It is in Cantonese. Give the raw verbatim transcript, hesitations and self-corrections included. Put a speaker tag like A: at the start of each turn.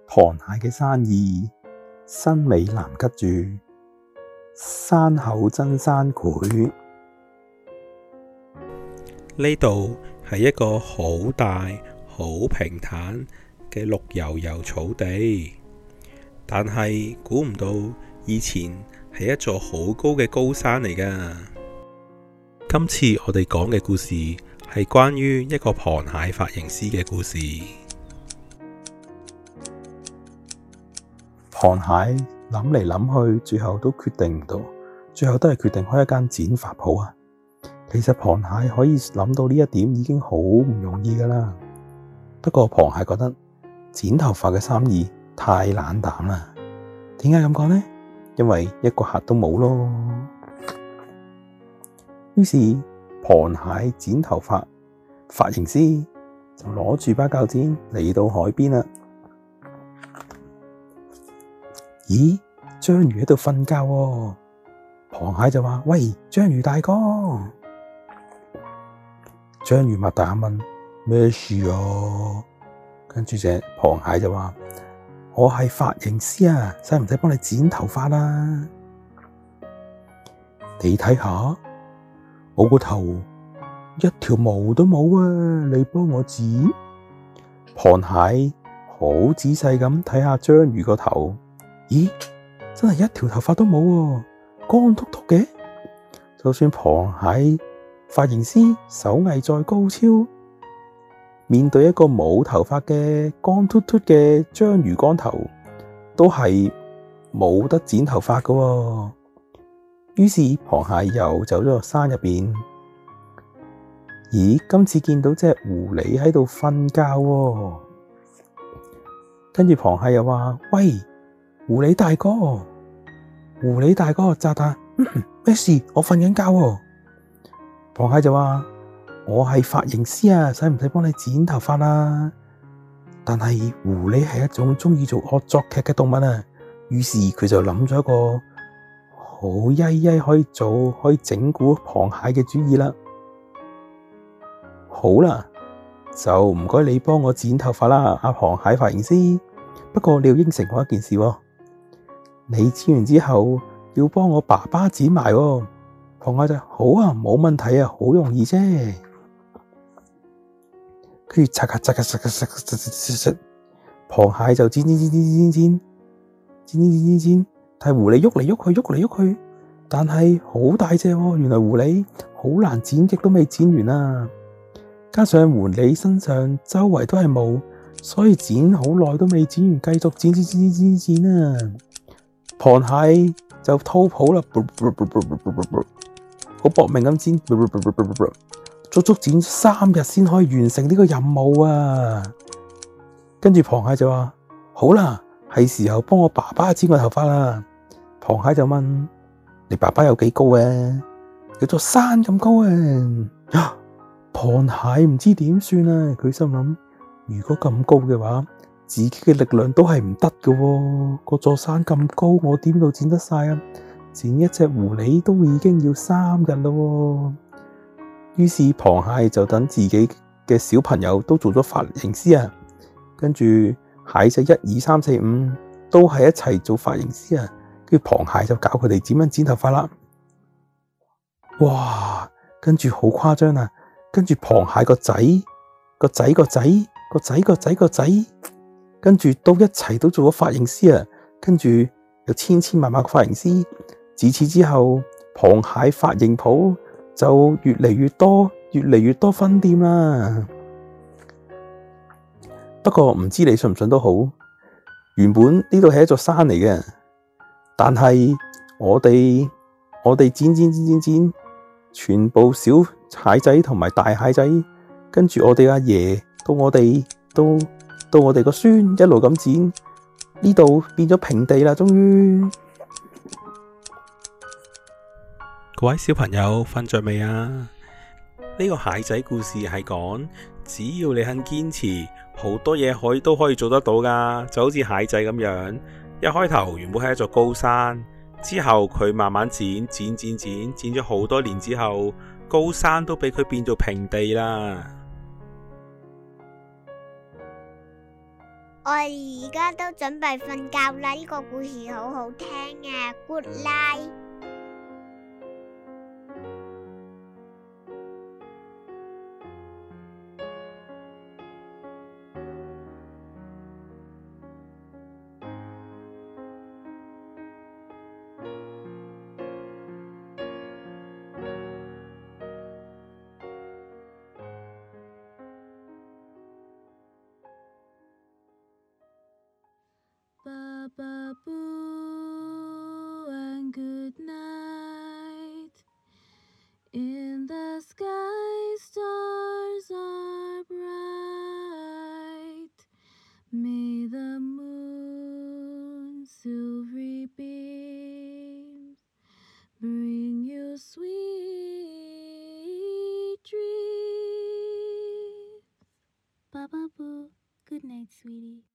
A: 螃蟹嘅生意，新美南吉著，山口真山繪。
B: 呢度係一個好大、好平坦嘅綠油油草地，但係估唔到以前係一座好高嘅高山嚟㗎。今次我哋講嘅故事係關於一個螃蟹髮型師嘅故事。
A: 螃蟹諗嚟諗去，最後都決定唔到，最後都係決定開一間剪髮鋪啊！其實螃蟹可以諗到呢一點已經好唔容易㗎啦。不過螃蟹覺得剪頭髮嘅生意太冷淡啦。點解咁講呢？因為一個客都冇咯。於是螃蟹剪頭髮，髮型師就攞住把鉸剪嚟到海邊啦。咦，章魚喺度瞓覺喎。螃蟹就話：喂，章魚大哥！章魚擘大眼問：咩事啊？跟住隻螃蟹就話：我係髮型師啊，使唔使幫你剪頭髮啊？你睇下，我個頭一條毛都冇啊！你幫我剪。螃蟹好仔細咁睇下章魚個頭，咦，真係一條頭髮都冇喎，光禿禿嘅。就算螃蟹髮型師手藝再高超，面對一個冇頭髮嘅光禿禿嘅章魚光頭，都係冇得剪頭髮㗎喎。於是螃蟹又走咗落山入邊。咦，今次見到隻狐狸喺度瞓覺喎。跟住螃蟹又話：喂，狐狸大哥，狐狸大哥，咋咋？咩事？我瞓緊覺喎。螃蟹就話：我係髮型師啊，使唔使幫你剪頭髮啊？但係狐狸係一種鍾意做惡作劇嘅動物啊，於是佢就諗咗一個好曳曳可以做可以整蠱螃蟹嘅主意啦。好啦，就唔該你幫我剪頭髮啦，阿螃蟹髮型師。不過你要應承我一件事喎，你剪完之後要幫我爸爸剪埋喎。螃蟹就好啊，冇問題啊，好容易啫。跟住嚓咔嚓咔嚓咔嚓嚓嚓嚓，螃蟹就剪剪剪剪剪剪剪剪剪剪剪，但係狐狸喐嚟喐去喐嚟喐去，但係好大隻喎。原來狐狸好難剪，極都未剪完啊！加上狐狸身上周圍都係毛，所以剪好耐都未剪完，繼續剪剪剪剪剪剪啊！螃蟹就偷跑啦，好搏命咁剪，足足剪三日先可以完成呢個任務啊！跟住螃蟹就話：好啦，係時候幫我爸爸剪個頭髮啦。螃蟹就問：你爸爸有幾高啊？有座山咁高啊！螃蟹唔知點算啊！佢心諗：如果咁高嘅話，自己嘅力量都係唔得㗎喎。嗰座山咁高，我點度剪得晒啊？剪一隻狐狸都已經要三日咯。於是螃蟹就等自己嘅小朋友都做咗髮型師啊，跟住蟹仔一二三四五都係一齊做髮型師啊。跟住螃蟹就教佢哋點樣剪頭髮啦。哇！跟住好誇張啊！跟住螃蟹個仔個仔個仔個仔個仔個仔，跟住都一齊都做咗髮型師啊。跟住有千千萬萬個髮型師。自此之後，螃蟹髮型鋪就越嚟越多，越嚟越多分店啦。不過唔知你信唔信都好，原本呢度係一座山嚟嘅，但係我哋我哋剪剪剪剪剪，全部小蟹仔同埋大蟹仔，跟住我哋阿爺到我哋到到我哋個孫一路咁剪，呢度變咗平地啦，終於。
B: 各位小朋友瞓着未啊？呢個蟹仔故事係講，只要你肯堅持，好多嘢可以都可以做得到噶。就好似蟹仔咁樣，一開頭原本係一座高山，之後佢慢慢剪剪剪剪，剪咗好多年之後，高山都俾佢變做平地啦。
C: 我而家都準備瞓覺啦，呢個故事好好聽啊 ，Good night。
D: Baba Boo and good night. In the sky stars are bright. May the moon's silvery beams bring you sweet dreams. Baba Boo, good night, sweetie.